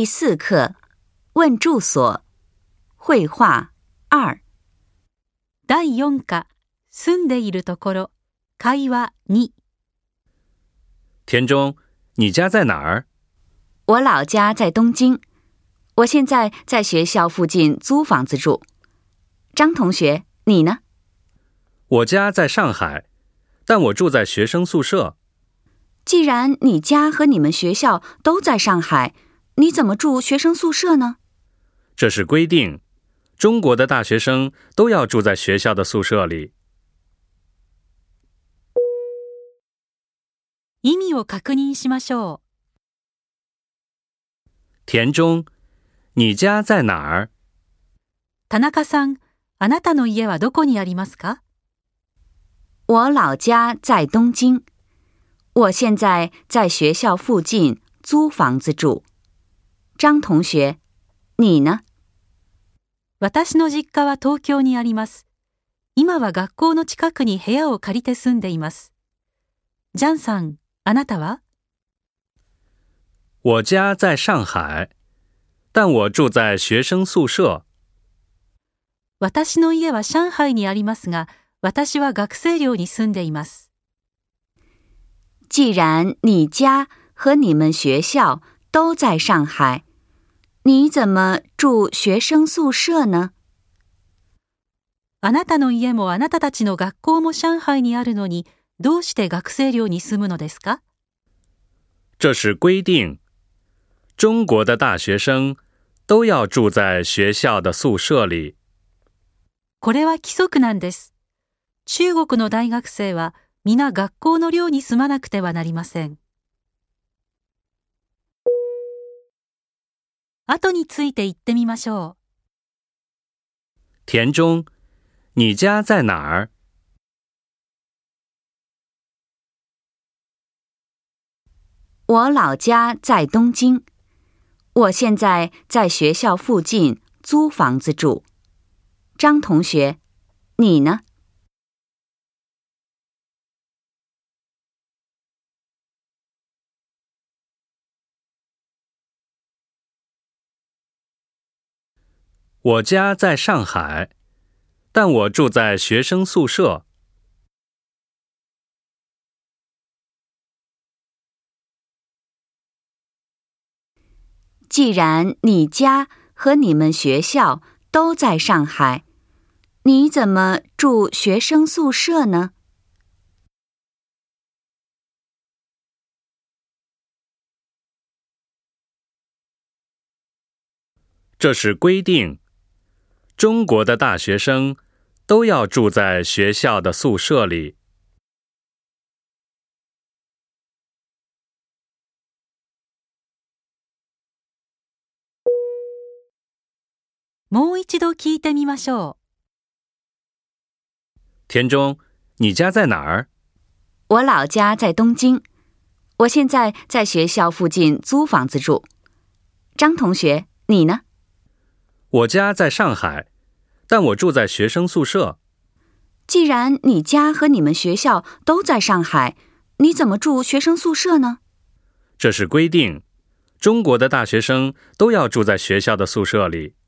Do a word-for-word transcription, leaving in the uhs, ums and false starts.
第四课，问住所，绘画二。 第四課、住んでいるところ、会話二。 田中，你家在哪儿？ 我老家在东京，我现在在学校附近租房子住。张同学，你呢？ 我家在上海，但我住在学生宿舍。 既然你家和你们学校都在上海，你怎么住学生宿舍呢？ 这是规定，中国的大学生都要住在学校的宿舍里。 意味を確認しましょう。 田中，你家在哪儿？ 田中さん、あなたの家はどこにありますか？ 我老家在东京，我现在在学校附近租房子住。张同学，你呢？ 私の実家は東京にあります。今は学校の近くに部屋を借りて住んでいます。ジャンさん、あなたは？ 我家在上海，但我住在学生宿舍。 私の家は上海にありますが、私は学生寮に住んでいます。 既然你家和你们学校都在上海，你怎么住学生宿舍呢？ あなたの家もあなたたちの学校も上海にあるのに、どうして学生寮に住むのですか？ 这是规定，中国的大学生都要住在学校的宿舍里。 これは規則なんです。中国の大学生は皆学校の寮に住まなくてはなりません。後について言ってみましょう。 田中，你家在哪儿？ 我老家在东京，我现在在学校附近租房子住。张同学，你呢？ 我家在上海，但我住在学生宿舍。 既然你家和你们学校都在上海，你怎么住学生宿舍呢？ 这是规定，中国的大学生都要住在学校的宿舍里。 もう一度聞いてみましょう。 田中，你家在哪儿？ 我老家在东京，我现在在学校附近租房子住。张同学，你呢？ 我家在上海，但我住在学生宿舍。 既然你家和你们学校都在上海，你怎么住学生宿舍呢？ 这是规定，中国的大学生都要住在学校的宿舍里。